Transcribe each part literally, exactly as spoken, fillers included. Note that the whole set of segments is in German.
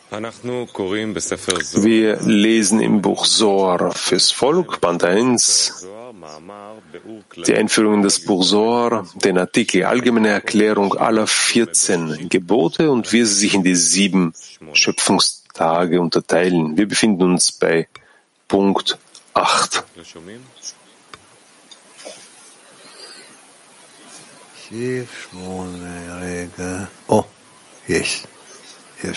Wir lesen im Buch Zohar fürs Volk, Band eins, die Einführung in das Buch Zohar, den Artikel Allgemeine Erklärung aller vierzehn Gebote und wie sie sich in die sieben Schöpfungstage unterteilen. Wir befinden uns bei Punkt acht. Oh, yes, yes.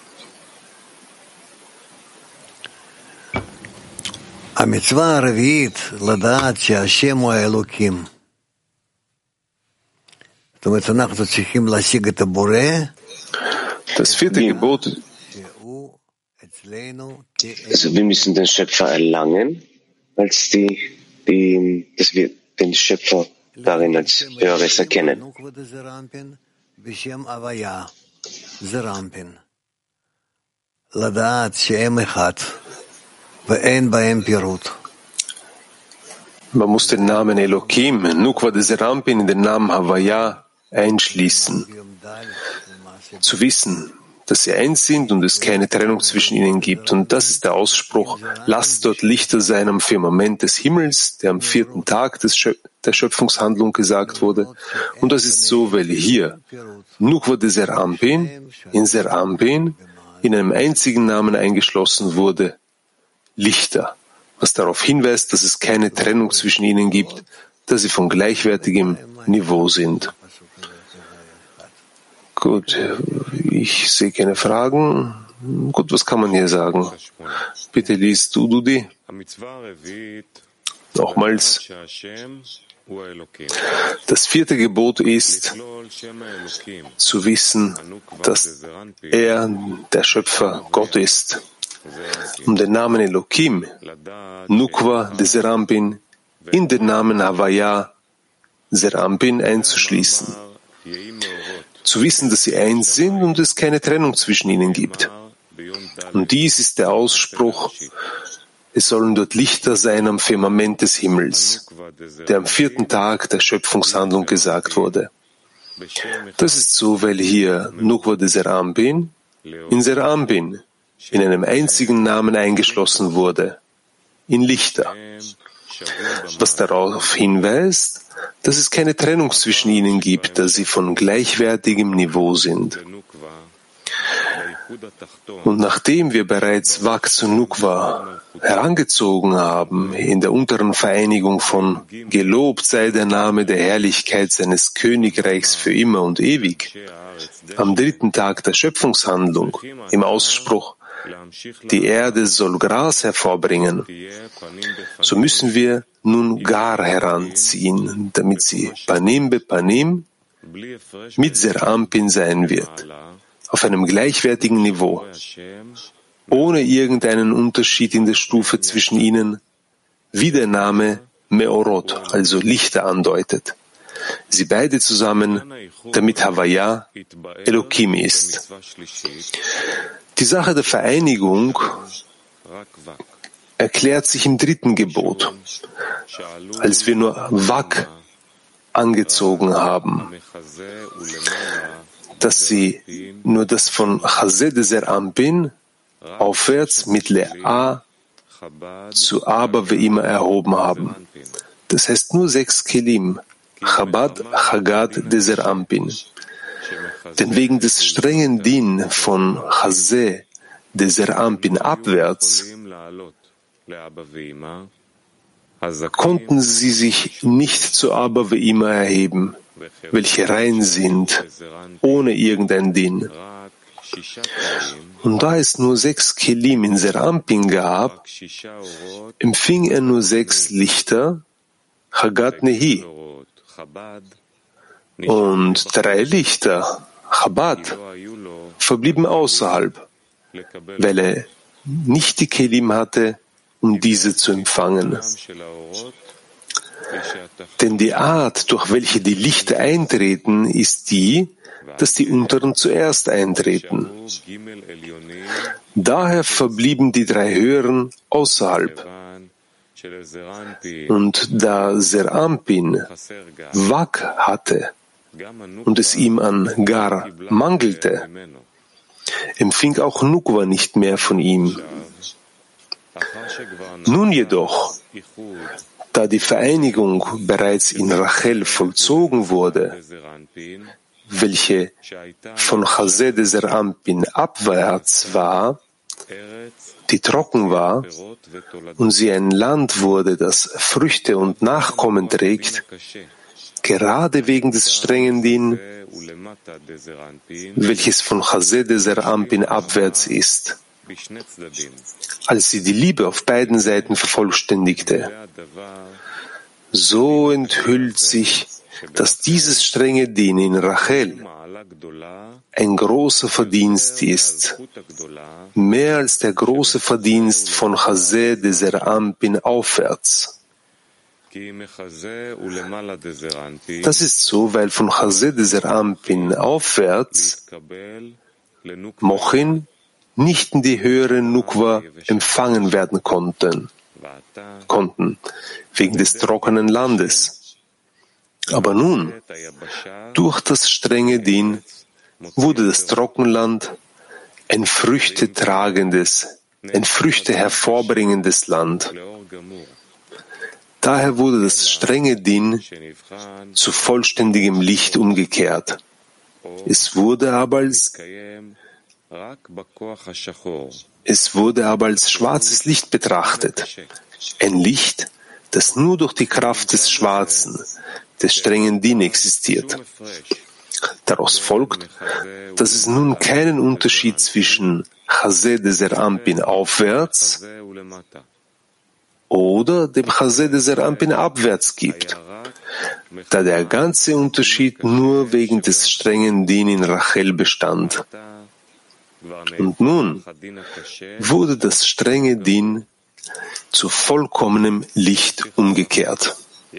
המצווה הרביעית, לדעת שהשם הוא האלוקים. זאת אומרת, אנחנו צריכים להשיג את הבורא. Das vierte Gebot. Also wir müssen den Schöpfer erlangen, als die, die, dass wir den Schöpfer darin als Höheres erkennen. לדעת שהם אחד. Man muss den Namen Elohim, Nukva de Serampin, in den Namen Havaya einschließen. Zu wissen, dass sie eins sind und es keine Trennung zwischen ihnen gibt. Und das ist der Ausspruch, lasst dort Lichter sein am Firmament des Himmels, der am vierten Tag des Schö- der Schöpfungshandlung gesagt wurde. Und das ist so, weil hier Nukva de Serampin in Serampin in einem einzigen Namen eingeschlossen wurde, Lichter, was darauf hinweist, dass es keine Trennung zwischen ihnen gibt, dass sie von gleichwertigem Niveau sind. Gut, ich sehe keine Fragen. Gut, was kann man hier sagen? Bitte liest du, Dudi. Nochmals. Das vierte Gebot ist, zu wissen, dass er, der Schöpfer, Gott ist. Um den Namen Elohim, Nukva de Serampin, in den Namen Havaya, Serampin einzuschließen. Zu wissen, dass sie eins sind und es keine Trennung zwischen ihnen gibt. Und dies ist der Ausspruch, es sollen dort Lichter sein am Firmament des Himmels, der am vierten Tag der Schöpfungshandlung gesagt wurde. Das ist so, weil hier Nukva de Serampin in Serampin in einem einzigen Namen eingeschlossen wurde, in Lichter, was darauf hinweist, dass es keine Trennung zwischen ihnen gibt, da sie von gleichwertigem Niveau sind. Und nachdem wir bereits Wak zu Nukva herangezogen haben, in der unteren Vereinigung von Gelobt sei der Name der Herrlichkeit seines Königreichs für immer und ewig, am dritten Tag der Schöpfungshandlung, im Ausspruch, die Erde soll Gras hervorbringen, so müssen wir nun Gar heranziehen, damit sie Panim be Panim mit Serampin sein wird, auf einem gleichwertigen Niveau, ohne irgendeinen Unterschied in der Stufe zwischen ihnen, wie der Name Meorot, also Lichter, andeutet. Sie beide zusammen, damit Havaya Elohim ist. Die Sache der Vereinigung erklärt sich im dritten Gebot, als wir nur Wak angezogen haben, dass sie nur das von Chazeh de Serampin aufwärts mit Le'a zu Aber wie immer erhoben haben. Das heißt nur sechs Kelim, Chabad, Chagad de Serampin. Denn wegen des strengen Din von Chazeh de Serampin abwärts konnten sie sich nicht zu Aber wie immer erheben, welche rein sind, ohne irgendein Din. Und da es nur sechs Kelim in Serampin gab, empfing er nur sechs Lichter, Chagad Nehi, und drei Lichter, Chabad, verblieben außerhalb, weil er nicht die Kelim hatte, um diese zu empfangen. Denn die Art, durch welche die Lichter eintreten, ist die, dass die unteren zuerst eintreten. Daher verblieben die drei höheren außerhalb. Und da Serampin Wak hatte und es ihm an Gar mangelte, empfing auch Nukwa nicht mehr von ihm. Nun jedoch, da die Vereinigung bereits in Rachel vollzogen wurde, welche von Chased Zer Anpin abwärts war, die trocken war, und sie ein Land wurde, das Früchte und Nachkommen trägt, gerade wegen des strengen Din, welches von Chased Zer Anpin abwärts ist, als sie die Liebe auf beiden Seiten vervollständigte. So enthüllt sich, dass dieses strenge Din in Rachel ein großer Verdienst ist, mehr als der große Verdienst von Chased Zer Anpin aufwärts. Das ist so, weil von Chased Zer Anpin aufwärts Mochin nicht in die höhere Nukwa empfangen werden konnten, konnten, wegen des trockenen Landes. Aber nun, durch das strenge Din, wurde das Trockenland ein früchtetragendes, ein Früchte hervorbringendes Land. Daher wurde das strenge Din zu vollständigem Licht umgekehrt. Es wurde aber als Es wurde aber als schwarzes Licht betrachtet. Ein Licht, das nur durch die Kraft des Schwarzen, des strengen Din existiert. Daraus folgt, dass es nun keinen Unterschied zwischen Chased Zer Anpin aufwärts oder dem Chased Zer Anpin abwärts gibt, da der ganze Unterschied nur wegen des strengen Din in Rachel bestand. Und nun wurde das strenge Din zu vollkommenem Licht umgekehrt.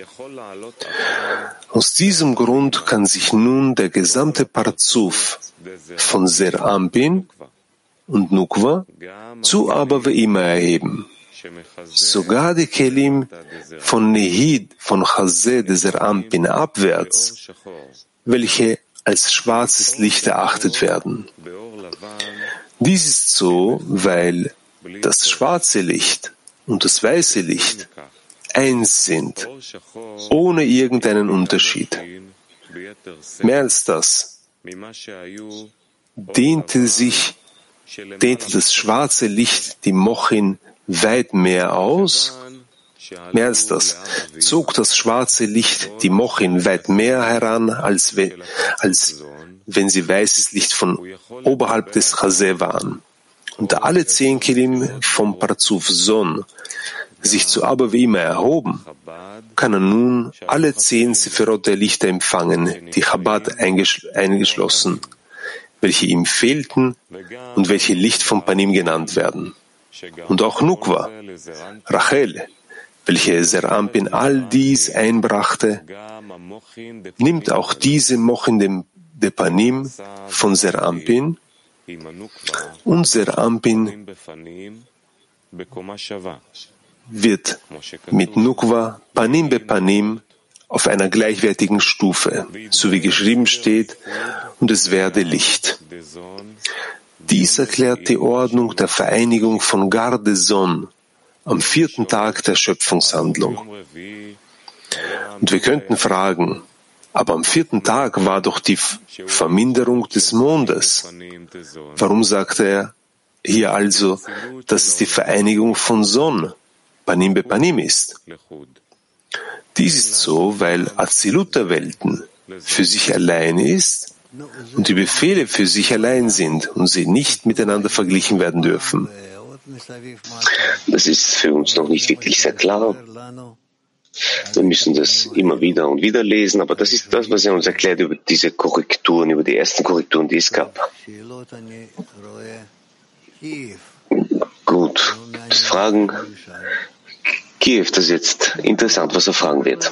Aus diesem Grund kann sich nun der gesamte Parzuf von Zer Anpin und Nukwa zu Abba Ve'ima erheben. Sogar die Kelim von Nehid von Chased Zer Anpin abwärts, welche als schwarzes Licht erachtet werden. Dies ist so, weil das schwarze Licht und das weiße Licht eins sind, ohne irgendeinen Unterschied. Mehr als das dehnte sich, dehnte das schwarze Licht die Mochin weit mehr aus. Mehr als das zog das schwarze Licht die Mochin weit mehr heran, als, we, als wenn sie weißes Licht von oberhalb des Chaseh waren. Und da alle zehn Kelim vom Parzuf Son sich zu Abba Ve'ima erhoben, kann er nun alle zehn Sephirot der Lichter empfangen, die Chabad eingeschlossen, welche ihm fehlten und welche Licht vom Panim genannt werden. Und auch Nukwa, Rachel, welche Zer Anpin all dies einbrachte, nimmt auch diese Mochin dem de Panim von Zer Anpin und Zer Anpin wird mit Nukwa Panim be Panim auf einer gleichwertigen Stufe, so wie geschrieben steht, und es werde Licht. Dies erklärt die Ordnung der Vereinigung von Garde Son am vierten Tag der Schöpfungshandlung. Und wir könnten fragen, aber am vierten Tag war doch die Verminderung des Mondes. Warum sagt er hier also, dass es die Vereinigung von Son, Panim be Panim ist? Dies ist so, weil Azilut der Welten für sich allein ist und die Befehle für sich allein sind und sie nicht miteinander verglichen werden dürfen. Das ist für uns noch nicht wirklich sehr klar. Wir müssen das immer wieder und wieder lesen, aber das ist das, was er uns erklärt über diese Korrekturen, über die ersten Korrekturen, die es gab. Gut, das Fragen. Kiew, das ist jetzt interessant, was er fragen wird.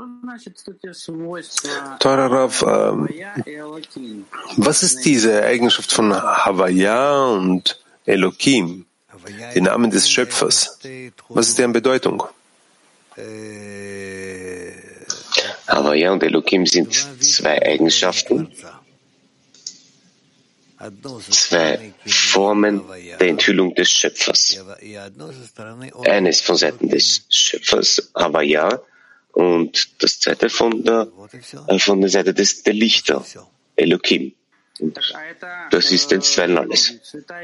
Teurer Rav, ähm, was ist diese Eigenschaft von Havaya und Elokim, die Namen des Schöpfers? Was ist deren Bedeutung? Havaya und Elokim sind zwei Eigenschaften, zwei Formen der Enthüllung des Schöpfers. Eines von Seiten des Schöpfers, Havaya, und das zweite von der, von der Seite des, der Lichter, Elokim. Und das ist einstweilen alles.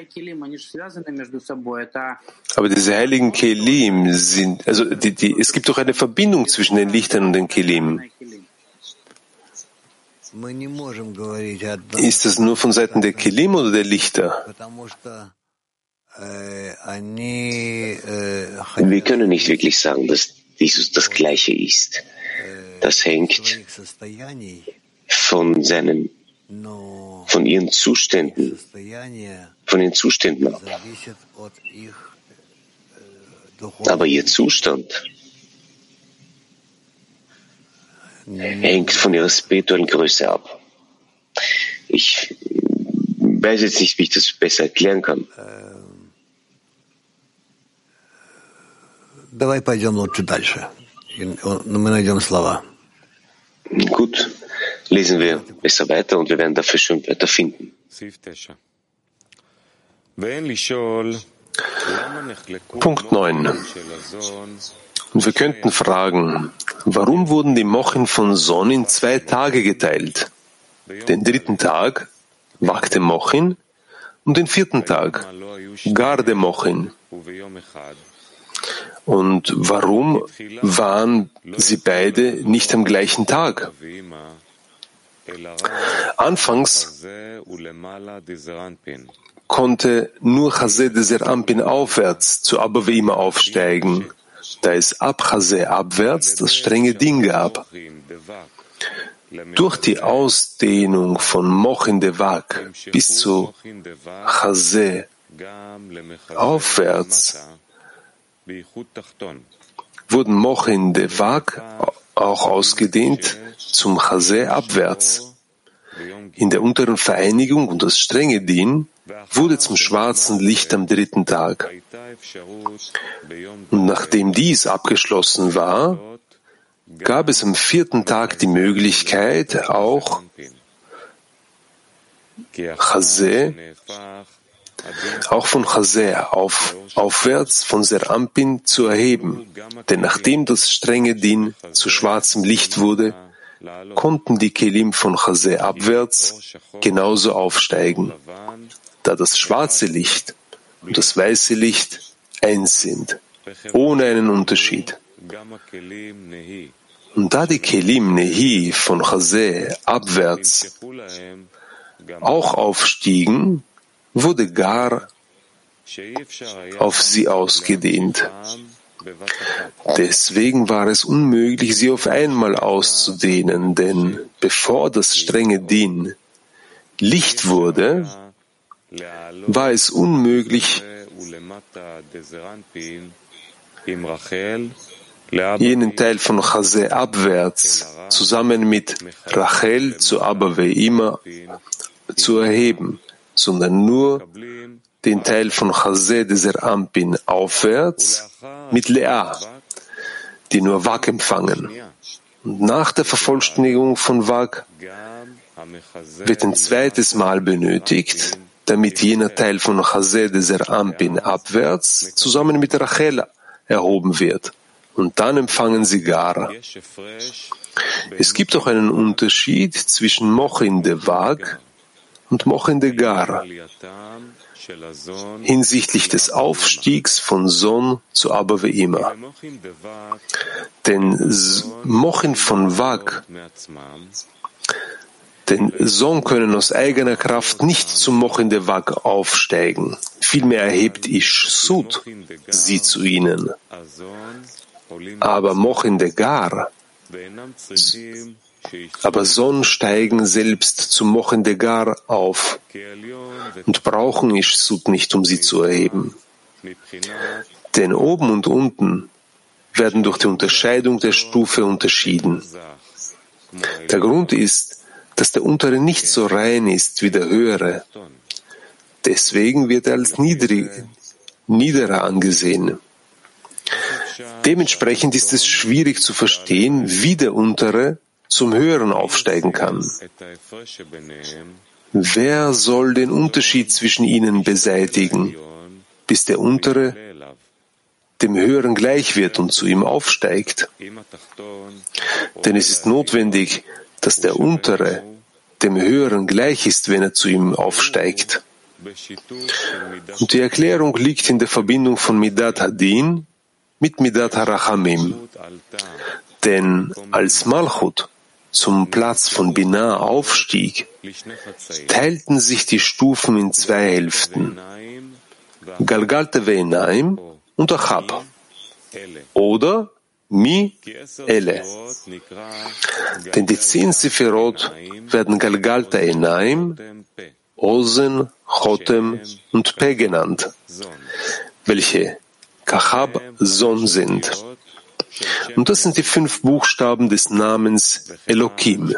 Aber diese heiligen Kelim sind, also die, die, es gibt doch eine Verbindung zwischen den Lichtern und den Kelim. Ist das nur von Seiten der Kelim oder der Lichter? Wir können nicht wirklich sagen, dass dieses das Gleiche ist. Das hängt von seinen, von ihren Zuständen, von den Zuständen ab. Aber ihr Zustand hängt von ihrer spirituellen Größe ab. Ich weiß jetzt nicht, wie ich das besser erklären kann. Gut, lesen wir besser weiter und wir werden dafür schon Wörter finden. Punkt neun. Und wir könnten fragen, warum wurden die Mochen von Son in zwei Tage geteilt? Den dritten Tag, Vakte Mochin, und den vierten Tag, Garde Mochin. Und warum waren sie beide nicht am gleichen Tag? Anfangs konnte nur Chazé de Zerampin aufwärts zu Abba Ve'ima aufsteigen, da es ab Chazé abwärts das strenge Din gab. Durch die Ausdehnung von Mochin de Vak bis zu Chazé aufwärts wurden Mochin de Vak auch ausgedehnt zum Chazé abwärts. In der unteren Vereinigung und das strenge Din wurde zum schwarzen Licht am dritten Tag. Und nachdem dies abgeschlossen war, gab es am vierten Tag die Möglichkeit, auch Chazé, auch von Chazé auf, aufwärts von Zerampin zu erheben. Denn nachdem das strenge Din zu schwarzem Licht wurde, konnten die Kelim von Chazé abwärts genauso aufsteigen, da das schwarze Licht und das weiße Licht eins sind, ohne einen Unterschied. Und da die Kelim Nehi von Chazé abwärts auch aufstiegen, wurde Gar auf sie ausgedehnt. Deswegen war es unmöglich, sie auf einmal auszudehnen, denn bevor das strenge Din Licht wurde, war es unmöglich, jenen Teil von Chazé abwärts zusammen mit Rachel zu Abba Ve'ima zu erheben, sondern nur den Teil von Chazé de Zerampin aufwärts mit Lea, die nur Vak empfangen. Und nach der Vervollständigung von Vak wird ein zweites Mal benötigt, damit jener Teil von Chazé de Zerampin abwärts zusammen mit Rachel erhoben wird. Und dann empfangen sie Gar. Es gibt auch einen Unterschied zwischen Mochin de Vak und Mochin de Gar hinsichtlich des Aufstiegs von Son zu Abba Ve'ima. Denn Mochin von Vak, denn Son können aus eigener Kraft nicht zum Mochin de Vak aufsteigen. Vielmehr erhebt Ish Sud sie zu ihnen. Aber Mochin de Gar, aber Son steigen selbst zum Mochin de Gar auf und brauchen Ish Sud nicht, um sie zu erheben. Denn oben und unten werden durch die Unterscheidung der Stufe unterschieden. Der Grund ist, dass der untere nicht so rein ist wie der höhere. Deswegen wird er als niedrig, niederer angesehen. Dementsprechend ist es schwierig zu verstehen, wie der untere zum höheren aufsteigen kann. wer soll den Unterschied zwischen ihnen beseitigen, bis der Untere dem Höheren gleich wird und zu ihm aufsteigt? Denn es ist notwendig, dass der Untere dem Höheren gleich ist, wenn er zu ihm aufsteigt. Und die Erklärung liegt in der Verbindung von Midat Hadin mit Midat Harachamim. Denn als Malchut zum Platz von Binah aufstieg, teilten sich die Stufen in zwei Hälften, Galgalte Ve'enaim und Achab, oder Mi Ele. Denn die zehn Sephirot werden Galgalte Enaim, Ozen, Chotem und Pe genannt, welche Kachab Son sind. Und das sind die fünf Buchstaben des Namens Elokim.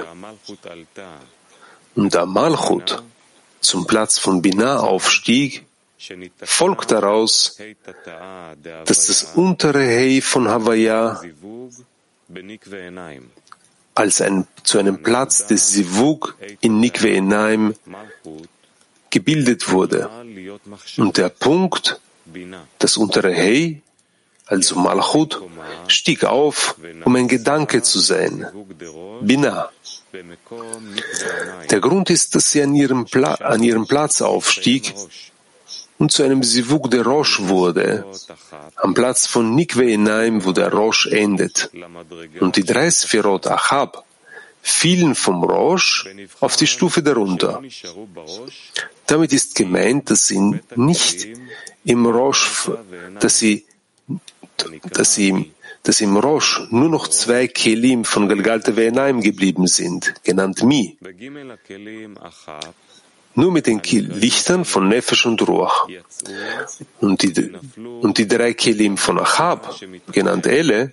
Und da Malchut zum Platz von Binah aufstieg, folgt daraus, dass das untere Hei von Havaya als ein, zu einem Platz des Sivug in Nikve Enaim gebildet wurde. Und der Punkt, das untere Hei, also Malchut, stieg auf, um ein Gedanke zu sein, Binah. Der Grund ist, dass sie an ihrem, Pla- an ihrem Platz aufstieg und zu einem Sivug der Rosh wurde, am Platz von Nikve Enaim, wo der Rosh endet. Und die drei Sphirot Achab fielen vom Rosh auf die Stufe darunter. Damit ist gemeint, dass sie nicht im Rosh, dass sie, dass sie, dass im Rosh nur noch zwei Kelim von Galgalte Ve'enaim geblieben sind, genannt Mi. Nur mit den Lichtern von Nefesh und Ruach. Und die, und die drei Kelim von Achab, genannt Ele,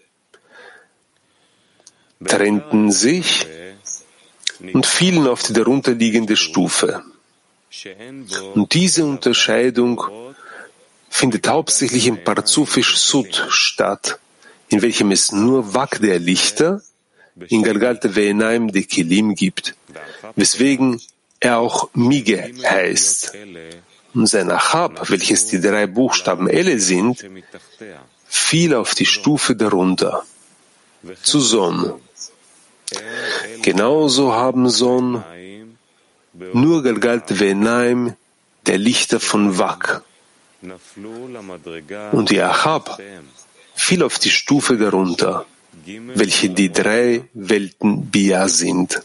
trennten sich und fielen auf die darunterliegende Stufe. Und diese Unterscheidung findet hauptsächlich im Parzufisch Sud statt, in welchem es nur Wak der Lichter in Galgalte Ve'enaim de Kelim gibt, weswegen er auch Mige heißt. Und sein Achab, welches die drei Buchstaben Ele sind, fiel auf die Stufe darunter, zu Son. Genauso haben Son nur Galgalte Ve'enaim der Lichter von Wak. Und die Achab fiel auf die Stufe darunter, welche die drei Welten Bia sind.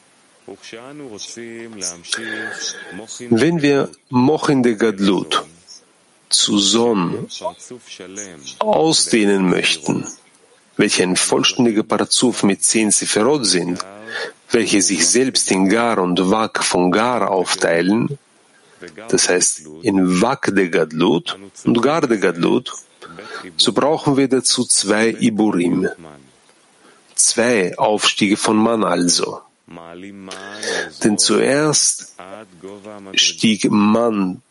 Wenn wir Mochin de Gadlut zu Son ausdehnen möchten, welche ein vollständiger Parzuf mit zehn Sephirot sind, welche sich selbst in Gar und Wak von Gar aufteilen, das heißt in Wak de Gadlut und Gar de Gadlut, so brauchen wir dazu zwei Iburim, zwei Aufstiege von Man also. Denn zuerst stieg Man,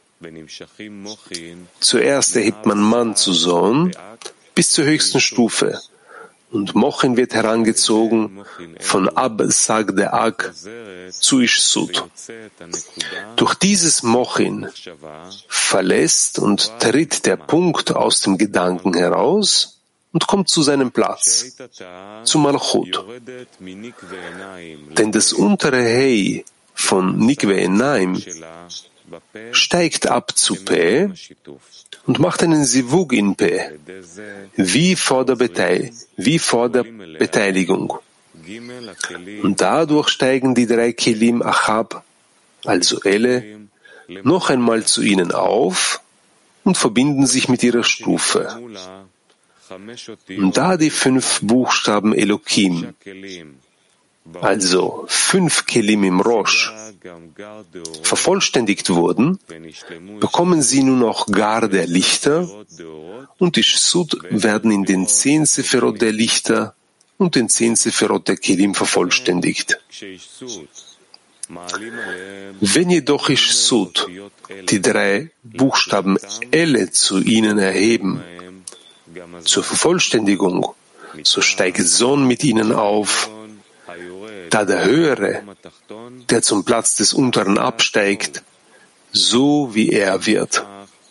zuerst erhebt man Man zu Son bis zur höchsten Stufe, und Mochin wird herangezogen von Ab Sag de Ak zu Ish Sud. Durch dieses Mochin verlässt und tritt der Punkt aus dem Gedanken heraus und kommt zu seinem Platz, zu Malchut. Denn das untere Hei von Nikve Enaim steigt ab zu Pe und macht einen Sivug in Pe, wie vor der, Beteil- wie vor der Beteiligung. Und dadurch steigen die drei Kelim Achab, also Ele, noch einmal zu ihnen auf und verbinden sich mit ihrer Stufe. Und da die fünf Buchstaben Elokim, also fünf Kelim im Rosh, vervollständigt wurden, bekommen sie nun auch Gar der Lichter, und die Sud werden in den zehn Sephirot der Lichter und den zehn Sephirot der Kelim vervollständigt. Wenn jedoch Ish Sud die drei Buchstaben Ele zu ihnen erheben, zur Vervollständigung, so steigt Son mit ihnen auf, da der Höhere, der zum Platz des Unteren absteigt, so wie er wird.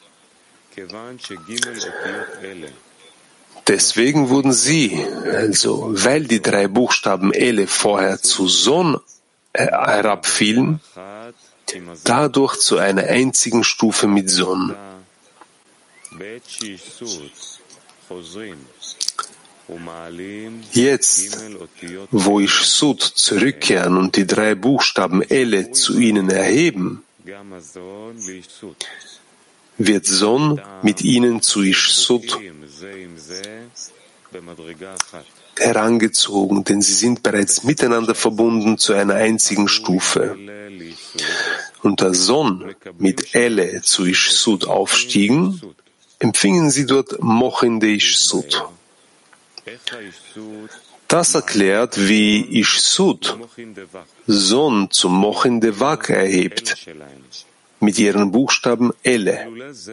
Deswegen wurden sie, also weil die drei Buchstaben Ele vorher zu Son herabfielen, dadurch zu einer einzigen Stufe mit Son. Jetzt, wo ich Sud zurückkehren und die drei Buchstaben Ele zu ihnen erheben, wird Son mit ihnen zu Ish Sud herangezogen, denn sie sind bereits miteinander verbunden zu einer einzigen Stufe. Und da Son mit Ele zu Ish Sud aufstiegen, empfingen sie dort Mochin de Ish Sud. Das erklärt, wie Ish Sud Son zum Mochin de Vak erhebt, mit ihren Buchstaben Ele.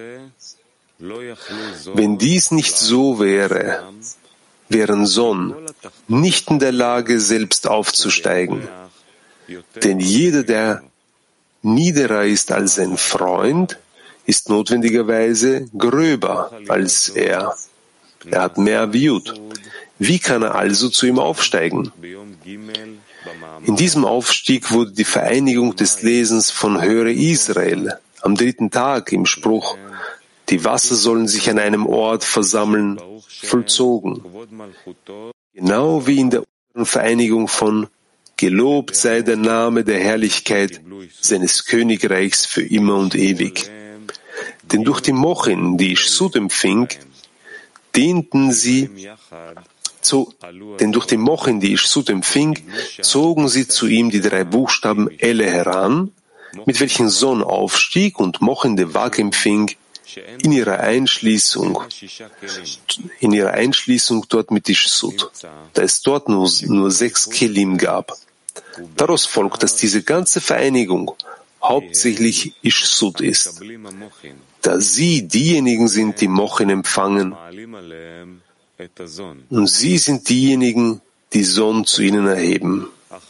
Wenn dies nicht so wäre, wären Son nicht in der Lage, selbst aufzusteigen. Denn jeder, der niederer ist als sein Freund, ist notwendigerweise gröber als er. Er hat mehr Aviut. Wie kann er also zu ihm aufsteigen? In diesem Aufstieg wurde die Vereinigung des Lesens von Höre Israel am dritten Tag im Spruch, die Wasser sollen sich an einem Ort versammeln, vollzogen. Genau wie in der Vereinigung von Gelobt sei der Name der Herrlichkeit seines Königreichs für immer und ewig. Denn durch die Mochin, die Ish Sud empfing, dehnten sie So, denn durch die Mochin, die Ish Sud empfing, zogen sie zu ihm die drei Buchstaben Ele heran, mit welchen Son aufstieg und Mochin de Vak empfing, in ihrer Einschließung, in ihrer Einschließung dort mit Ish Sud, da es dort nur, nur sechs Kelim gab. Daraus folgt, dass diese ganze Vereinigung hauptsächlich Ish Sud ist, da sie diejenigen sind, die Mochin empfangen, und sie sind diejenigen, die Son zu ihnen erheben.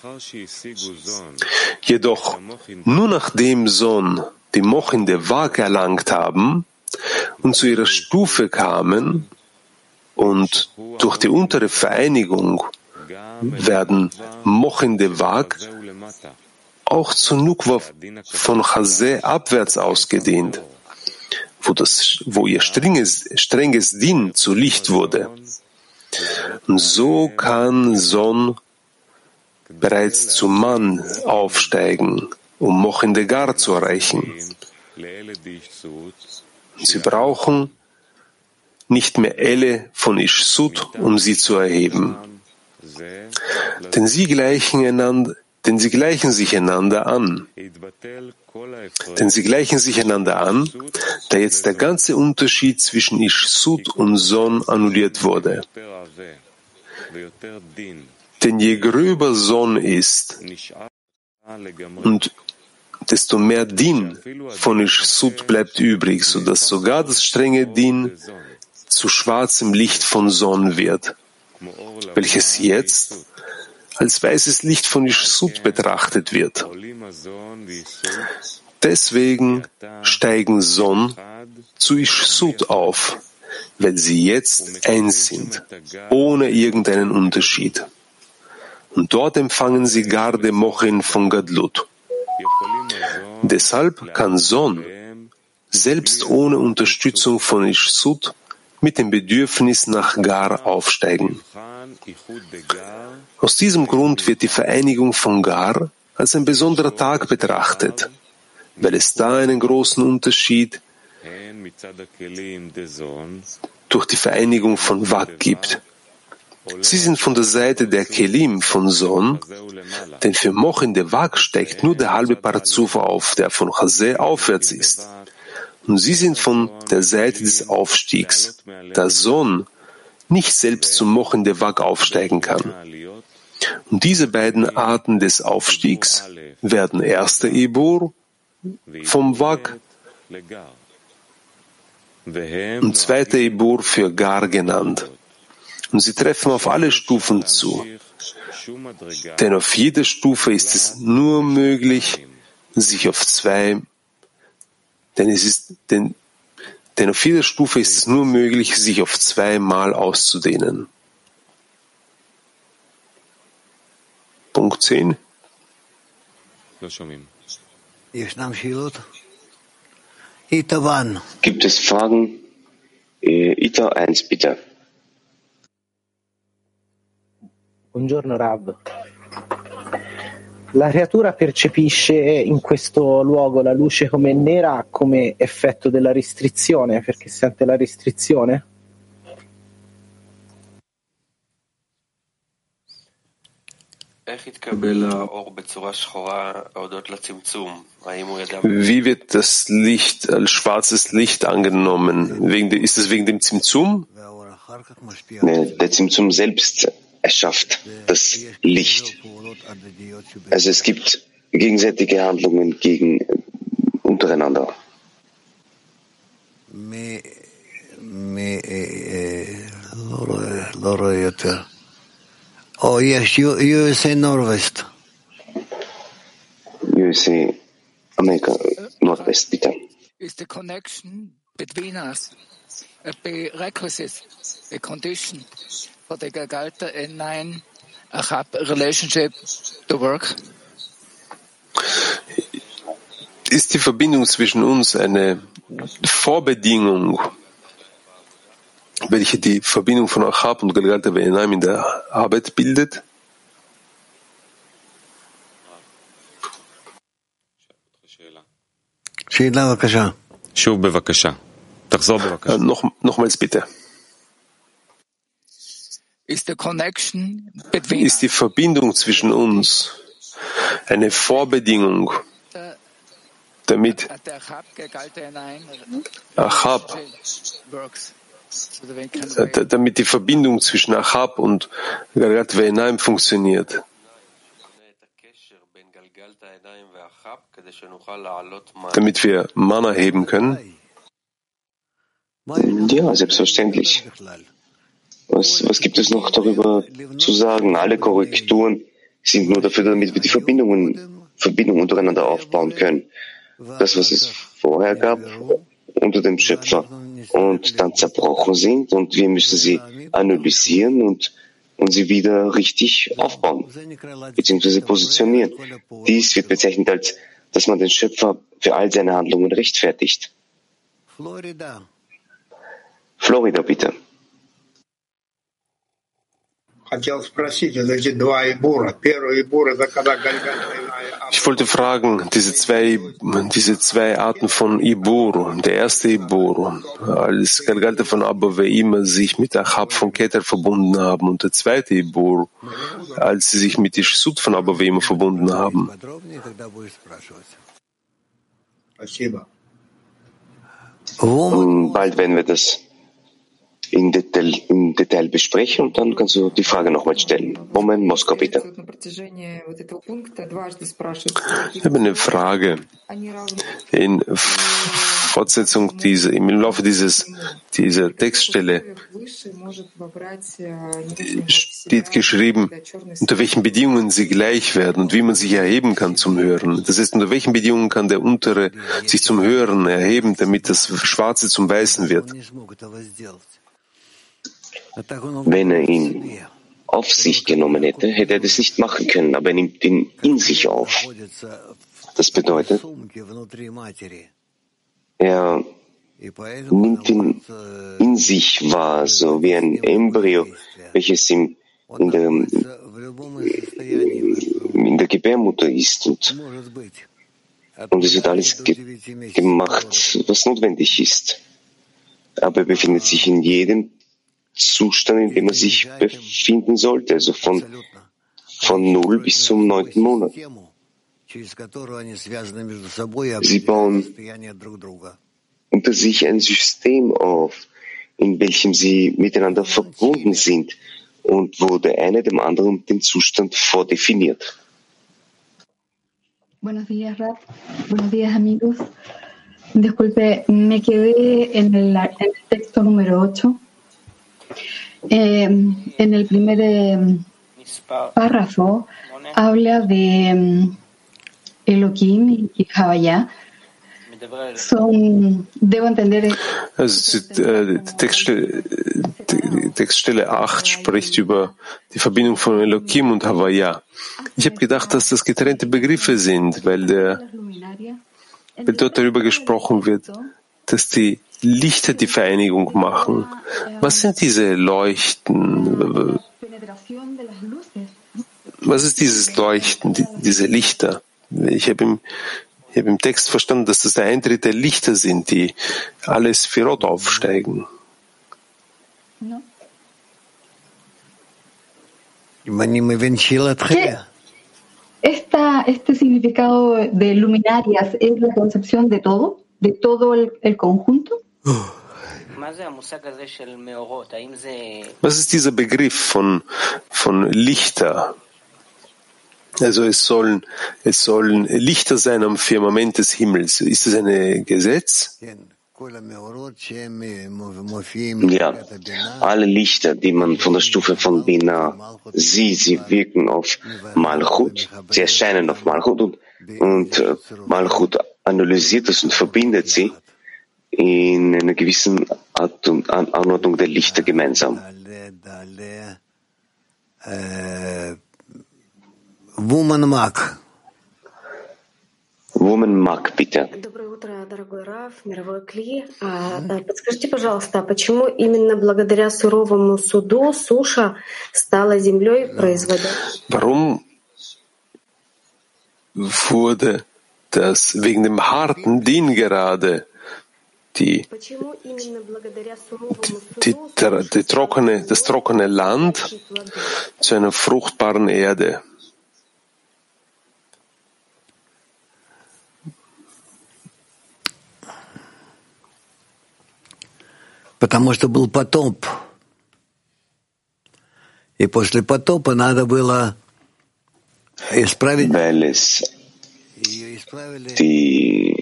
Jedoch, nur nachdem Son die Mochin de Vak erlangt haben und zu ihrer Stufe kamen und durch die untere Vereinigung werden Mochin de Vak auch zu Nukwa von Chazé abwärts ausgedehnt, wo, das, wo ihr strenges, strenges Din zu Licht wurde. Und so kann Son bereits zu Mann aufsteigen, um Mochin de Gar zu erreichen. Sie brauchen nicht mehr Elle von Ish Sud, um sie zu erheben. Denn sie gleichen einander, denn sie gleichen sich einander an. Denn sie gleichen sich einander an, da jetzt der ganze Unterschied zwischen Ish Sud und Son annulliert wurde. Denn je gröber Son ist und desto mehr Din von Ish Sud bleibt übrig, sodass sogar das strenge Din zu schwarzem Licht von Son wird, welches jetzt als weißes Licht von Ish Sud betrachtet wird. Deswegen steigen Son zu Ish Sud auf, weil sie jetzt eins sind, ohne irgendeinen Unterschied. Und dort empfangen sie Garde Mochin von Gadlut. Deshalb kann Son selbst ohne Unterstützung von Ish Sud mit dem Bedürfnis nach Gar aufsteigen. Aus diesem Grund wird die Vereinigung von Gar als ein besonderer Tag betrachtet, weil es da einen großen Unterschied durch die Vereinigung von Vak gibt. Sie sind von der Seite der Kelim von Son, denn für Mochin de Vak steigt nur der halbe Parzuf auf, der von Chazé aufwärts ist. Und sie sind von der Seite des Aufstiegs, da Son nicht selbst zum Mochin de Vak aufsteigen kann. Und diese beiden Arten des Aufstiegs werden erster Ibur vom Vak und zweiter Ibur für Gar genannt. Und sie treffen auf alle Stufen zu. Denn auf jeder Stufe ist es nur möglich, sich auf zwei, denn es ist, denn, denn auf jeder Stufe ist es nur möglich, sich auf zweimal auszudehnen. Punkt zehn. Gibt es Fragen? Ita eins, bitte. Buongiorno Rav. La creatura percepisce in questo luogo la luce come nera come effetto della restrizione, perché sente la restrizione? Wie wird das Licht als schwarzes Licht angenommen? Wegen de, ist es wegen dem Zimtzum? Der Zimtzum selbst erschafft das Licht. Also es gibt gegenseitige Handlungen gegen untereinander. Oh, yes, U S A Northwest. U S A, Amerika, Nordwest, bitte. Is the connection between us a prerequisite, a condition for the Galgalta N nine Achab relationship to work? Ist die Verbindung zwischen uns eine Vorbedingung, welche die Verbindung von Achab und Galgalta N nine in der Arbeit bildet? Noch, nochmals bitte. Ist die Verbindung zwischen uns eine Vorbedingung, damit Achab, damit die Verbindung zwischen Achab und Galgalta N nine funktioniert? Damit wir Mana heben können? Ja, selbstverständlich. Was, was gibt es noch darüber zu sagen? Alle Korrekturen sind nur dafür, damit wir die Verbindungen, Verbindungen untereinander aufbauen können. Das, was es vorher gab, unter dem Schöpfer, und dann zerbrochen sind, und wir müssen sie analysieren und, und sie wieder richtig aufbauen, beziehungsweise positionieren. Dies wird bezeichnet als, dass man den Schöpfer für all seine Handlungen rechtfertigt. Florida. Florida, bitte. Ich wollte fragen, diese zwei, diese zwei Arten von Ibur. Der erste Ibur, als Galgalta von Abba Ve'ima sich mit Achab von Keter verbunden haben, und der zweite Ibur, als sie sich mit Ishsut von Abba Ve'ima verbunden haben. Und bald werden wir das in Detail, im Detail besprechen, und dann kannst du die Frage nochmal stellen. Moment, Moskau, bitte. Ich habe eine Frage. In Fortsetzung dieser, im Laufe dieses, dieser Textstelle steht geschrieben, unter welchen Bedingungen sie gleich werden und wie man sich erheben kann zum Hören. Das heißt, unter welchen Bedingungen kann der Untere sich zum Hören erheben, damit das Schwarze zum Weißen wird? Wenn er ihn auf sich genommen hätte, hätte er das nicht machen können, aber er nimmt ihn in sich auf. Das bedeutet, er nimmt ihn in sich wahr, so wie ein Embryo, welches ihm in der, in der Gebärmutter ist. Und, und es wird alles ge- gemacht, was notwendig ist. Aber er befindet sich in jedem Zustand, in dem er sich befinden sollte, also von, von null bis zum neunten Monat. Sie bauen unter sich ein System auf, in welchem sie miteinander verbunden sind und wo der eine dem anderen den Zustand vordefiniert. Buenos días, Raf. Buenos días, amigos. Disculpe, me quedé en el, en el texto número ocho. Eh, en el primer eh, párrafo habla de um, Elohim y Havaya. Son, debo entender. Also die Textstelle, die Textstelle acht spricht über die Verbindung von Elohim und Havaya. Ich habe gedacht, dass das getrennte Begriffe sind, weil, der, weil dort darüber gesprochen wird, dass die Lichter die Vereinigung machen. Was sind diese Leuchten? Was ist dieses Leuchten, die, diese Lichter? Ich habe im, ich habe im Text verstanden, dass das der Eintritt der Lichter sind, die alle Sphirot aufsteigen. Esta, este significado de luminarias es la concepción de todo, de todo el, el conjunto. Was ist dieser Begriff von, von Lichter? Also es sollen, es sollen Lichter sein am Firmament des Himmels. Ist das ein Gesetz? Ja, alle Lichter, die man von der Stufe von Bina sieht, sie wirken auf Malchut, sie erscheinen auf Malchut und, und Malchut analysiert das und verbindet sie in einer gewissen Art und Anordnung der Lichter gemeinsam. Woman Mag. Woman Mag, bitte. Доброе утро, дорогой Рав, мировой Кли. Подскажите, пожалуйста, почему именно благодаря суровому суду суша стала землей, производя... Warum wurde das wegen dem harten Din gerade die, die, die, die trockene, das trockene Land zu einer fruchtbaren Erde? Потому что был потоп. И после потопа надо было исправить. Weil es die,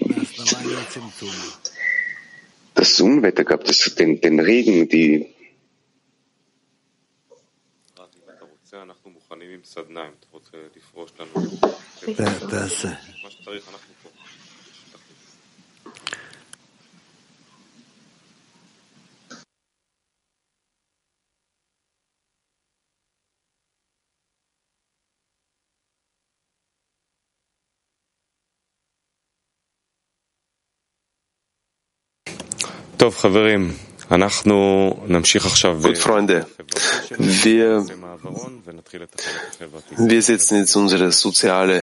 das Unwetter gab, das, den, den Regen, die das, Gut, Freunde, wir, wir setzen jetzt unsere soziale